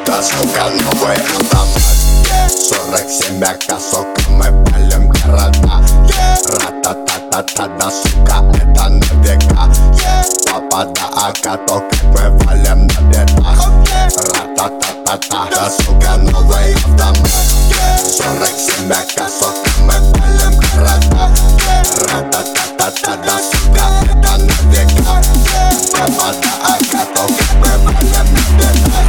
Да, сука, новый автомат. 47 сука, мы палим города. Ра-та-та-та-та, да, сука, это на века. Папа да АК, то как мы валим на бедах. Ра-та-та-та-та, да, сука, новый автомат. 47 сука, мы палим города. Ра-та-та-та-та, да, сука, это на века. Папа да АК, то как мы валим на бедах.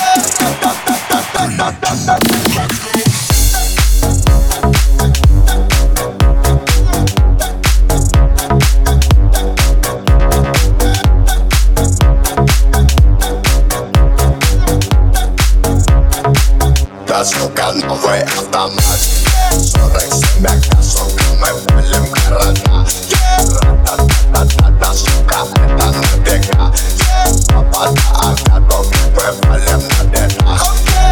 Да, сука, новый автомат. 47 сука, мы палим города. Ра-та-та-та-та, да, сука, это на века. Папа да АК, то как мы валим на бедах.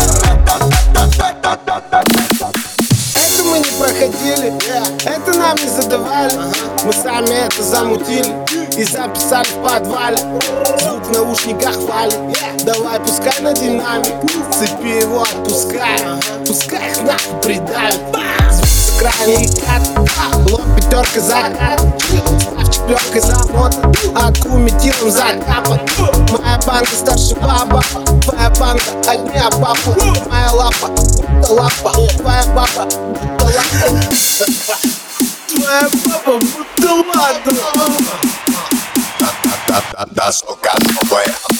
Это мы не проходили, это нам не задавали. Мы сами это замутили и записали в подвале. Звук в наушниках валит, давай пускай на динамик. Цепи его отпускай, пускай их нахуй придавит. Звук с экрана и кат, лоб пятерка закат. Став четверкой замота, аку метилом закапан. Моя банка старше баба, твоя банка одни баба. Моя лапа, будто лапа, твоя баба, будто лапа. Твоя баба, будто лапа. Да, сука, новый автомат.